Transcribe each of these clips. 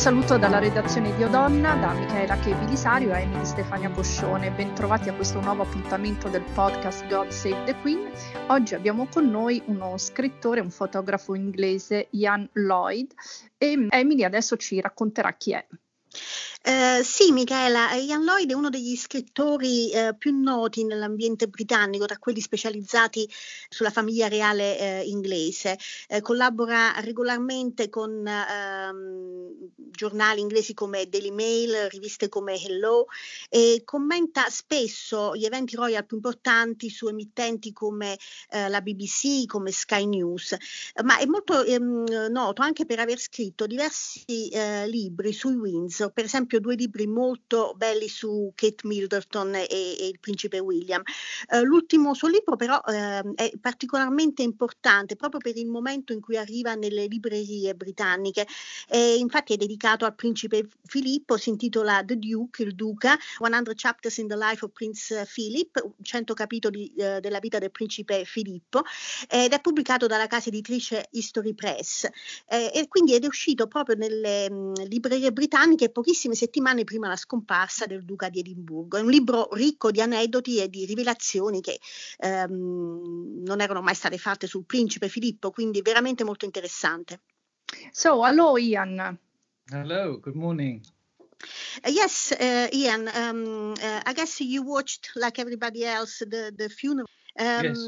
saluto dalla redazione di Odonna, da Michaela Che Bilisario e Emily Stefania Poscione. Bentrovati a questo nuovo appuntamento del podcast God Save the Queen. Oggi abbiamo con noi uno scrittore, un fotografo inglese, Ian Lloyd, e Emily adesso ci racconterà chi è. Sì, Michaela, Ian Lloyd è uno degli scrittori più noti nell'ambiente britannico, tra quelli specializzati sulla famiglia reale inglese. Collabora regolarmente con giornali inglesi come Daily Mail, riviste come Hello, e commenta spesso gli eventi royal più importanti su emittenti come la BBC, come Sky News, ma è molto noto anche per aver scritto diversi libri sui Windsor, per esempio 2 libri molto belli su Kate Middleton e il principe William. L'ultimo suo libro però è particolarmente importante proprio per il momento in cui arriva nelle librerie britanniche, infatti è dedicato al principe Filippo, si intitola The Duke, il Duca, 100 Chapters in the Life of Prince Philip, 100 capitoli della vita del principe Filippo, ed è pubblicato dalla casa editrice History Press, e quindi è uscito proprio nelle librerie britanniche pochissime settimane prima la scomparsa del Duca di Edimburgo. È un libro ricco di aneddoti e di rivelazioni che non erano mai state fatte sul principe Filippo, quindi veramente molto interessante. So, hello Ian. Hello, good morning. Yes, Ian, I guess you watched, like everybody else, the funeral. Yes.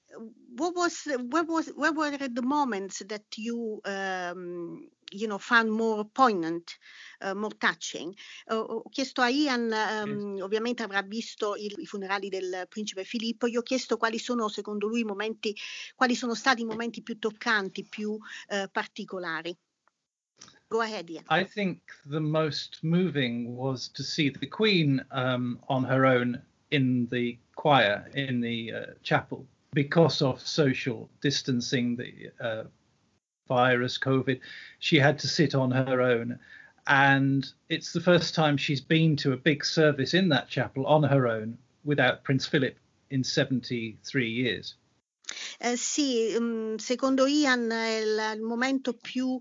Where were the moments that you found more poignant, more touching? Ho chiesto a Ian, ovviamente avrà visto i funerali del principe Filippo, gli ho chiesto quali sono secondo lui quali sono stati i momenti più toccanti, più particolari. Go ahead, Ian. I think the most moving was to see the Queen on her own in the choir in the chapel because of social distancing, the virus, COVID. She had to sit on her own. And it's the first time she's been to a big service in that chapel on her own without Prince Philip in 73 years. Sì, secondo Ian il momento più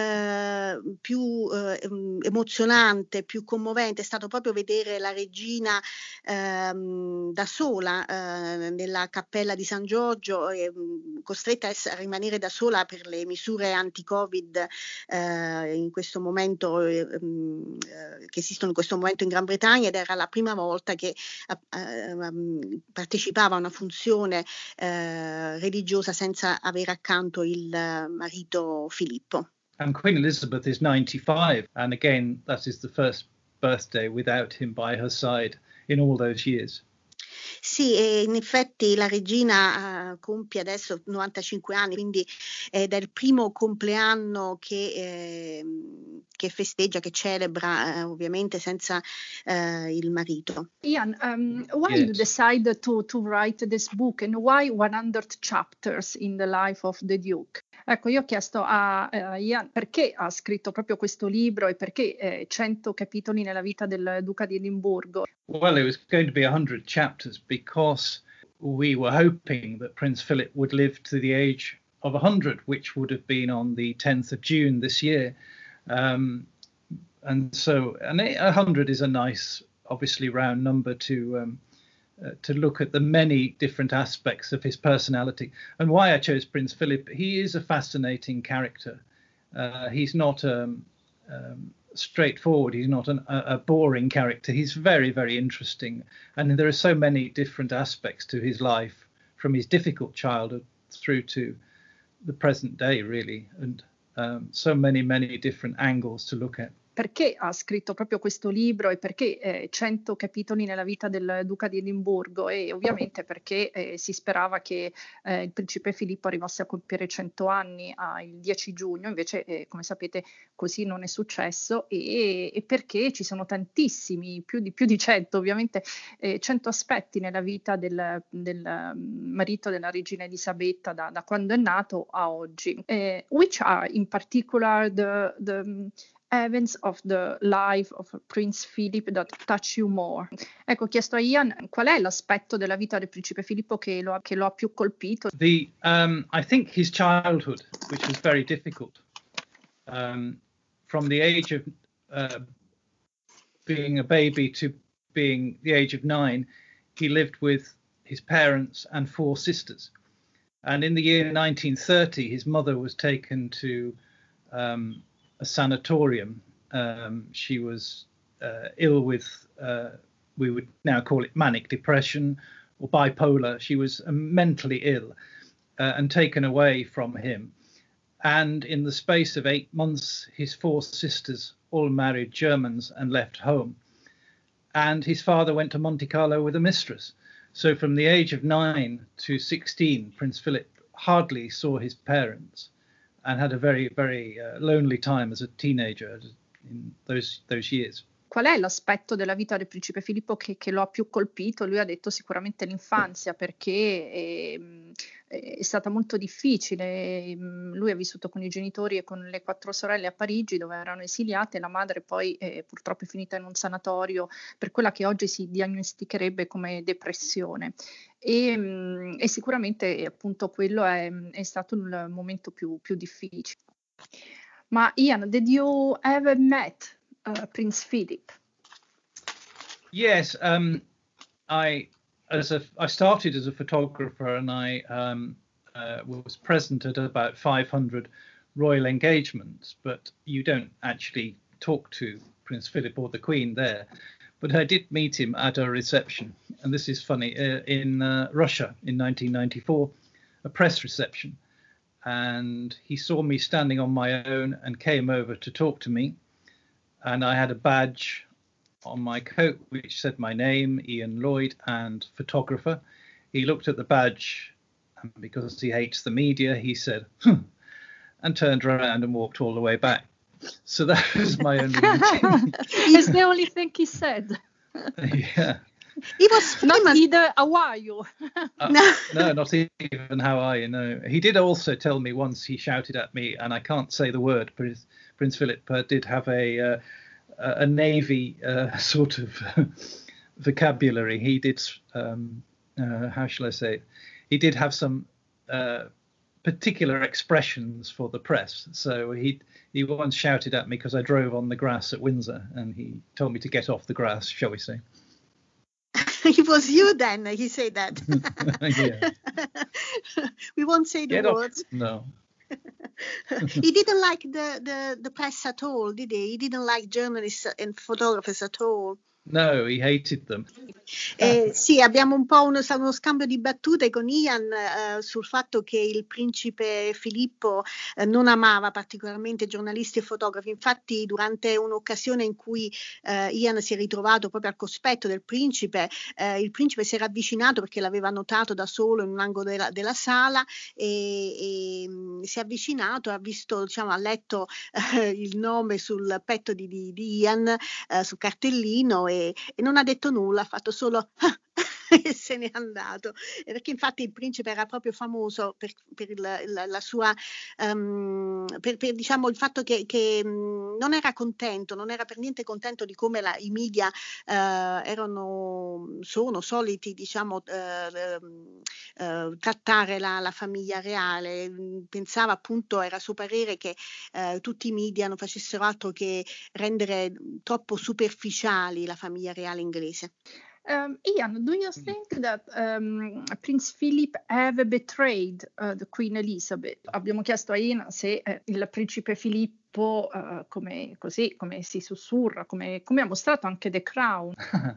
emozionante, più commovente è stato proprio vedere la regina da sola nella cappella di San Giorgio, costretta a rimanere da sola per le misure anti-Covid in questo momento che esistono in questo momento in Gran Bretagna, ed era la prima volta che partecipava a una funzione religiosa senza avere accanto il marito Filippo. And Queen Elizabeth is 95, and again that is the first birthday without him by her side in all those years. Sì, e in effetti la regina compie adesso 95 anni, quindi ed è il primo compleanno che festeggia, che celebra ovviamente senza il marito. Ian, why Yes. you decide to write this book and why 100 chapters in the life of the Duke? Ecco, io ho chiesto a Ian perché ha scritto proprio questo libro e perché 100 capitoli nella vita del Duca di Edimburgo. Well, it was going to be 100 chapters because we were hoping that Prince Philip would live to the age of 100, which would have been on the 10th of June this year. And 100 is a nice, obviously, round number to look at the many different aspects of his personality. And why I chose Prince Philip, he is a fascinating character. He's not straightforward. He's not a boring character. He's very, very interesting. And there are so many different aspects to his life, from his difficult childhood through to the present day, really. And so many, many different angles to look at. Perché ha scritto proprio questo libro e perché 100 capitoli nella vita del Duca di Edimburgo, e ovviamente perché si sperava che il principe Filippo arrivasse a compiere 100 anni il 10 giugno, invece come sapete così non è successo, e perché ci sono tantissimi, più di 100 ovviamente, 100 aspetti nella vita del marito della regina Elisabetta da quando è nato a oggi. Which are in particular the events of the life of Prince Philip that touch you more? Ecco, ho chiesto a Ian qual è l'aspetto della vita del principe Filippo che lo ha più colpito. I think his childhood, which was very difficult. from the age of being a baby to being the age of 9, he lived with his parents and 4 sisters. And in the year 1930, his mother was taken to a sanatorium. She was ill with, we would now call it manic depression or bipolar. She was mentally ill and taken away from him. And in the space of 8 months, his 4 sisters all married Germans and left home. And his father went to Monte Carlo with a mistress. So from the age of 9 to 16, Prince Philip hardly saw his parents and had a very, very lonely time as a teenager in those years. Qual è l'aspetto della vita del principe Filippo che lo ha più colpito? Lui ha detto sicuramente l'infanzia, perché è stata molto difficile. Lui ha vissuto con i genitori e con le 4 sorelle a Parigi, dove erano esiliate. La madre poi purtroppo è finita in un sanatorio per quella che oggi si diagnosticherebbe come depressione. E sicuramente appunto quello è stato il momento più difficile. Ma Ian, did you ever met Prince Philip? Yes, I started as a photographer, and I was present at about 500 royal engagements. But you don't actually talk to Prince Philip or the Queen there. But I did meet him at a reception, and this is funny, in Russia in 1994, a press reception. And he saw me standing on my own and came over to talk to me. And I had a badge on my coat which said my name, Ian Lloyd, and photographer. He looked at the badge, and because he hates the media, he said, and turned around and walked all the way back. So that was my only meeting. It's the only thing he said. Yeah. He was famous. Not either, how are you? No, not even how are you, no. He did also tell me once, he shouted at me, and I can't say the word, but Prince Philip did have a Navy sort of vocabulary. He did, how shall I say it? He did have some particular expressions for the press. So he once shouted at me because I drove on the grass at Windsor, and he told me to get off the grass, shall we say. It was you then, he said that. Yeah. We won't say the words. No. He didn't like the press at all, did he? He didn't like journalists and photographers at all. No, he hated them. Sì, abbiamo un po' uno scambio di battute con Ian sul fatto che il principe Filippo non amava particolarmente giornalisti e fotografi. Infatti, durante un'occasione in cui Ian si è ritrovato proprio al cospetto del principe, il principe si era avvicinato perché l'aveva notato da solo in un angolo della sala e si è avvicinato, ha visto, diciamo, ha letto il nome sul petto di Ian, sul cartellino e non ha detto nulla, ha fatto solo e se n'è andato, perché infatti il principe era proprio famoso per la sua per diciamo il fatto che non era contento, non era per niente contento di come i media sono soliti, diciamo, trattare la famiglia reale. Pensava, appunto, era suo parere che tutti i media non facessero altro che rendere troppo superficiali la famiglia reale inglese. Ian, do you think that Prince Philip have betrayed the Queen Elizabeth? Abbiamo chiesto a Ian se il principe Filippo, come si sussurra, come ha mostrato anche The Crown.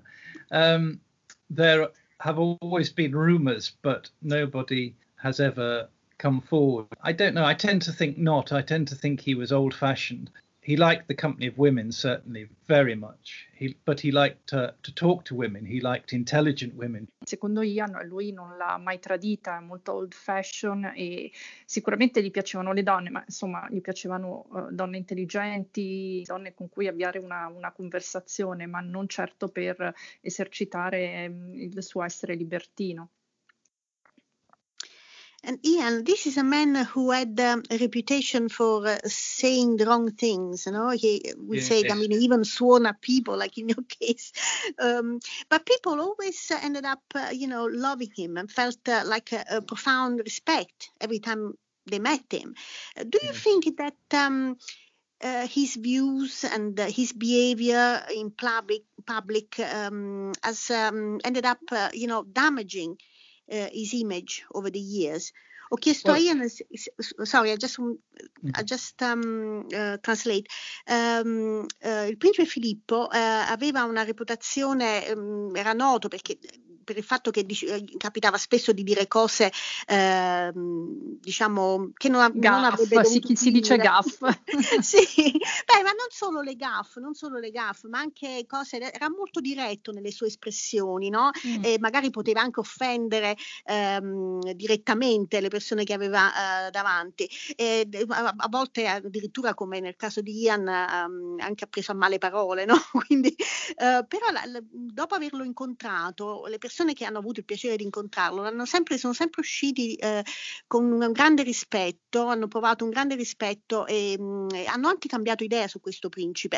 There have always been rumors, but nobody has ever come forward. I don't know. I tend to think not. I tend to think he was old-fashioned. He liked the company of women, certainly, very much. But he liked to talk to women. He liked intelligent women. Secondo Ian, lui non l'ha mai tradita, è molto old fashion e sicuramente gli piacevano le donne, ma insomma gli piacevano donne intelligenti, donne con cui avviare una conversazione, ma non certo per esercitare il suo essere libertino. And Ian, this is a man who had a reputation for saying the wrong things, you know. We say, I mean, even sworn at people, like in your case. But people always ended up, loving him and felt like a profound respect every time they met him. Do you think that his views and his behavior in public has ended up, damaging his image over the years. Ho chiesto a Ian, sorry, I just translate. Il principe Filippo aveva una reputazione, era noto perché per il fatto che capitava spesso di dire cose, diciamo, che non avrebbe dovuto si dice gaff. Sì, ma non solo le gaff, ma anche cose, era molto diretto nelle sue espressioni, no? E magari poteva anche offendere direttamente le persone che aveva davanti. E a volte addirittura, come nel caso di Ian, anche ha preso a male parole, no? Quindi, però dopo averlo incontrato, le persone che hanno avuto il piacere di incontrarlo sono sempre usciti con un grande rispetto, hanno provato un grande rispetto e hanno anche cambiato idea su questo principe.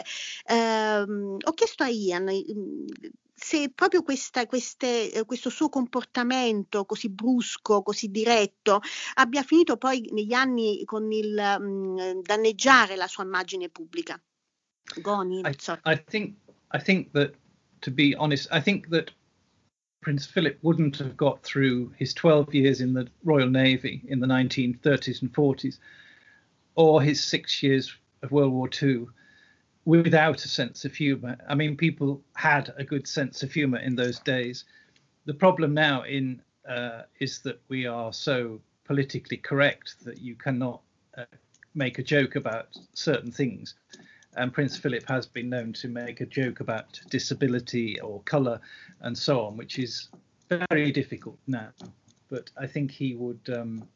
Ho chiesto a Ian se proprio questo suo comportamento così brusco, così diretto, abbia finito poi negli anni con il danneggiare la sua immagine pubblica. Goni, I think that, to be honest, I think that Prince Philip wouldn't have got through his 12 years in the Royal Navy in the 1930s and 40s, or his 6 years of World War II, without a sense of humour. I mean, people had a good sense of humour in those days. The problem now is that we are so politically correct that you cannot make a joke about certain things. And Prince Philip has been known to make a joke about disability or colour and so on, which is very difficult now. But I think he would.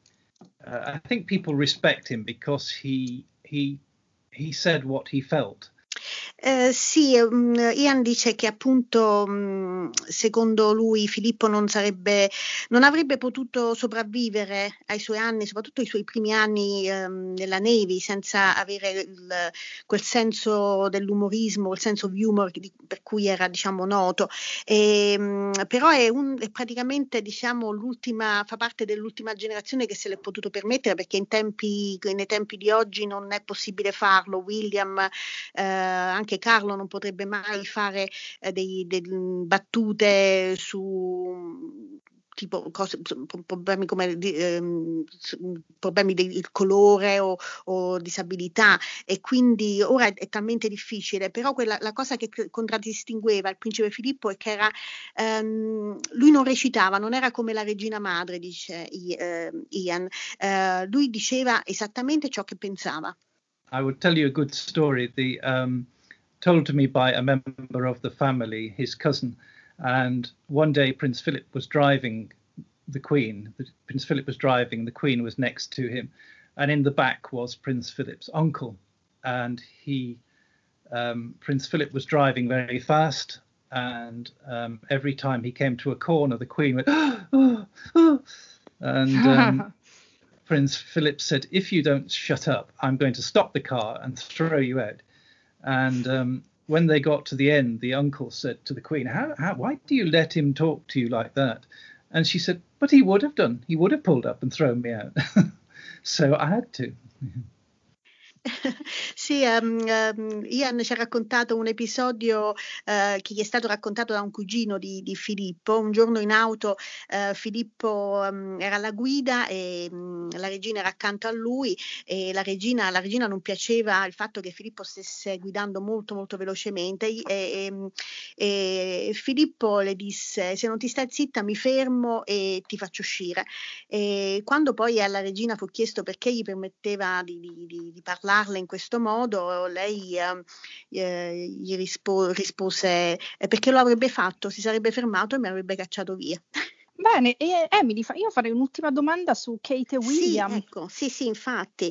I think people respect him because he said what he felt. Sì, Ian dice che appunto secondo lui Filippo non avrebbe potuto sopravvivere ai suoi anni, soprattutto ai suoi primi anni nella Navy, senza avere quel senso dell'umorismo, quel senso of humor per cui era, diciamo, noto. Però è praticamente, diciamo, fa parte dell'ultima generazione che se l'è potuto permettere, perché nei tempi di oggi non è possibile farlo. William, anche Carlo non potrebbe mai fare delle battute su tipo problemi come problemi del colore o disabilità, e quindi ora è talmente difficile. Però la cosa che contraddistingueva il principe Filippo è che lui non recitava, non era come la regina madre, dice Ian, lui diceva esattamente ciò che pensava. I would tell you a good story, told to me by a member of the family, his cousin. And one day Prince Philip was driving the Queen. Prince Philip was driving, the Queen was next to him. And in the back was Prince Philip's uncle. And Prince Philip was driving very fast. And every time he came to a corner, the Queen went, oh, oh. And Prince Philip said, if you don't shut up, I'm going to stop the car and throw you out. And when they got to the end, the uncle said to the Queen, why do you let him talk to you like that? And she said, but he would have done. He would have pulled up and thrown me out. So I had to. Sì, Ian ci ha raccontato un episodio che gli è stato raccontato da un cugino di Filippo. Un giorno in auto Filippo era alla guida e la regina era accanto a lui, e la regina non piaceva il fatto che Filippo stesse guidando molto molto velocemente, e Filippo le disse: se non ti stai zitta mi fermo e ti faccio uscire. E quando poi alla regina fu chiesto perché gli permetteva di parlarle in questo modo, lei gli rispose perché lo avrebbe fatto, si sarebbe fermato e mi avrebbe cacciato via. Bene, e Emily, io farei un'ultima domanda su Kate e William. Sì, ecco, sì, infatti.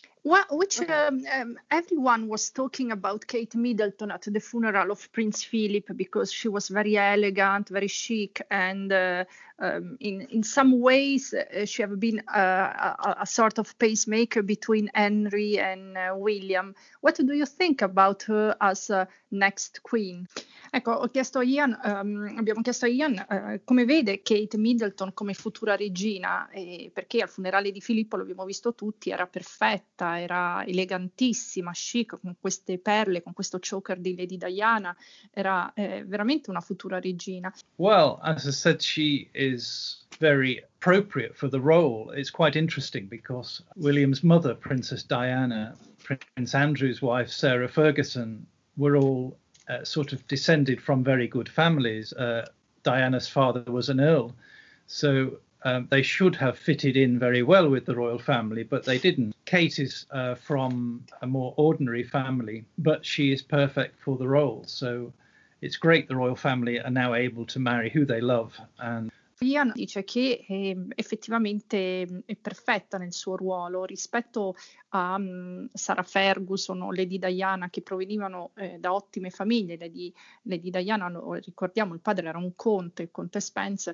Everyone was talking about Kate Middleton at the funeral of Prince Philip because she was very elegant, very chic, and in some ways she have been a sort of pacemaker between Henry and William. What do you think about her as next queen? Ecco, abbiamo chiesto a Ian come vede Kate Middleton come futura regina, perché al funerale di Filippo, l'abbiamo visto tutti, era perfetta, era elegantissima, chic, con queste perle, con questo choker di Lady Diana, era veramente una futura regina. Well, as I said, she is very appropriate for the role. It's quite interesting because William's mother, Princess Diana, Prince Andrew's wife, Sarah Ferguson, were all sort of descended from very good families. Diana's father was an earl, so they should have fitted in very well with the royal family, but they didn't. Kate is from a more ordinary family, but she is perfect for the role. So it's great the royal family are now able to marry who they love. And Ian dice che effettivamente è perfetta nel suo ruolo rispetto a Sarah Ferguson o Lady Diana, che provenivano da ottime famiglie. Lady Diana, ricordiamo, il padre era un conte, il conte Spencer,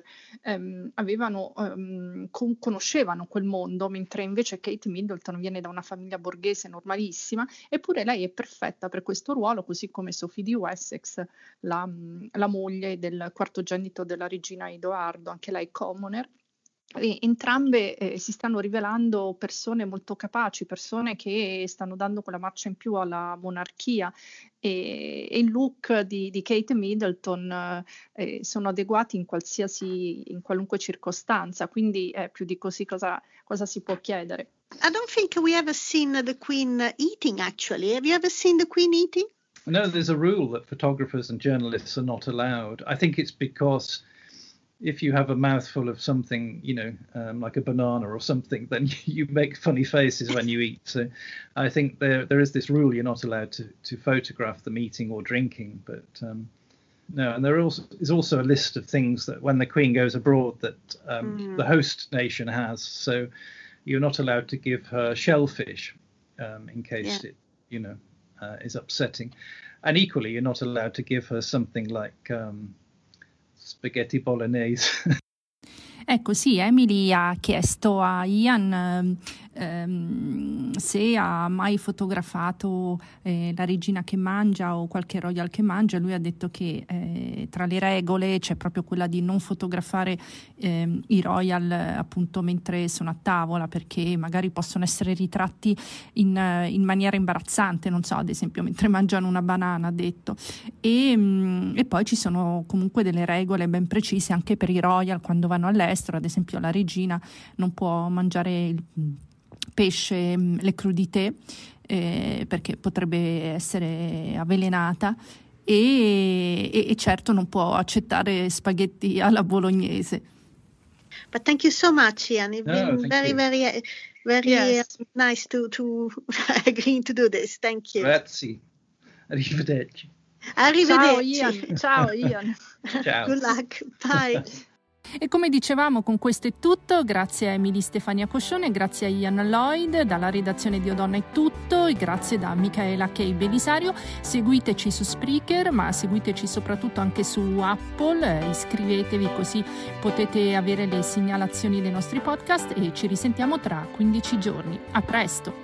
conoscevano quel mondo, mentre invece Kate Middleton viene da una famiglia borghese normalissima, eppure lei è perfetta per questo ruolo, così come Sophie di Wessex, la moglie del quartogenito della regina Edoardo, anche lei commoner. E entrambe si stanno rivelando persone molto capaci, persone che stanno dando quella marcia in più alla monarchia, e il look di Kate Middleton sono adeguati in qualunque circostanza, quindi più di così cosa si può chiedere? I don't think we ever seen the Queen eating, actually. Have you ever seen the Queen eating? No, there's a rule that photographers and journalists are not allowed. I think it's because if you have a mouthful of something, like a banana or something, then you make funny faces when you eat. So I think there is this rule you're not allowed to photograph them eating or drinking. But no, and there is also a list of things that when the Queen goes abroad that the host nation has. So you're not allowed to give her shellfish in case it, is upsetting. And equally, you're not allowed to give her something like spaghetti bolognese. Ecco, sì, Emily ha chiesto a Ian se ha mai fotografato la regina che mangia o qualche royal che mangia. Lui ha detto che tra le regole c'è proprio quella di non fotografare i royal appunto mentre sono a tavola, perché magari possono essere ritratti in maniera imbarazzante, non so, ad esempio mentre mangiano una banana, ha detto. E poi ci sono comunque delle regole ben precise anche per i royal quando vanno all'estero. Ad esempio la regina non può mangiare il pesce, le crudité, perché potrebbe essere avvelenata, e certo non può accettare spaghetti alla bolognese. But thank you so much, Ian. It's been very Yes. Nice to agree to do this. Thank you. Grazie. Arrivederci. Arrivederci. Ciao Ian. Ciao. Good luck. Bye. E come dicevamo, con questo è tutto. Grazie a Emily Stefania Coscione, grazie a Ian Lloyd, dalla redazione di O Donna è tutto, e grazie da Micaela K. Belisario. Seguiteci su Spreaker, ma seguiteci soprattutto anche su Apple, iscrivetevi così potete avere le segnalazioni dei nostri podcast, e ci risentiamo tra 15 giorni. A presto!